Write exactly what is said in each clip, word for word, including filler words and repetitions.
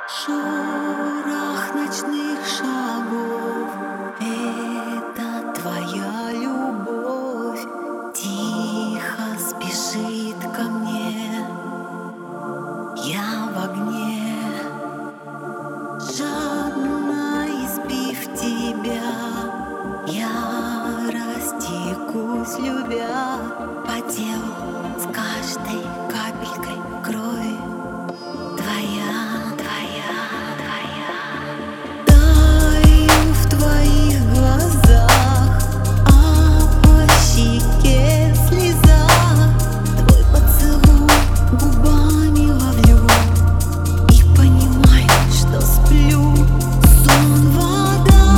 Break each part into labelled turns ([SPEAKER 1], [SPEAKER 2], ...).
[SPEAKER 1] Шорох ночных шагов — это твоя любовь. Тихо спешит ко мне, я в огне. Жадно избив тебя, я растекусь, любя по телу с каждой капелькой крови. Твоя, твоя, твоя. Таю в твоих глазах, а по щеке слеза. Твой поцелуй губами ловлю и понимаю, что сплю. Сон, вода,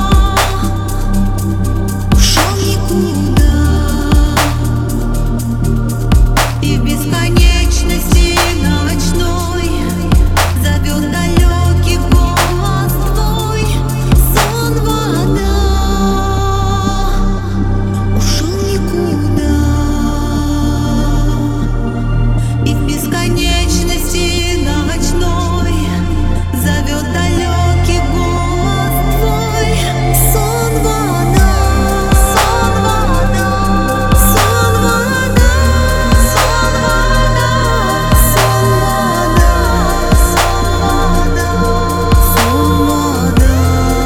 [SPEAKER 1] ушел никуда, и в бесконечности ночной зовет далекий голос твой. Сон, вода, ушел никуда, и в бесконечности ночной зовет далекий голос твой. Сон, вода, сон, вода, сон, вода, сон, вода, сон, вода, сон, вода,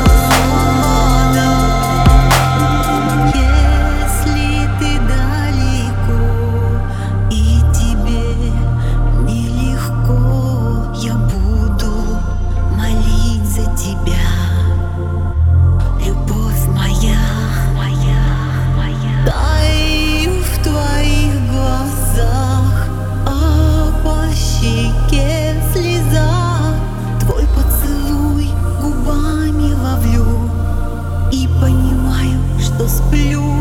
[SPEAKER 1] сон, вода. Если ты далеко и тебе нелегко, я буду молить за тебя. Любовь моя, моя, моя. Таю в твоих глазах, а по щеке слеза. Твой поцелуй губами ловлю и понимаю, что сплю.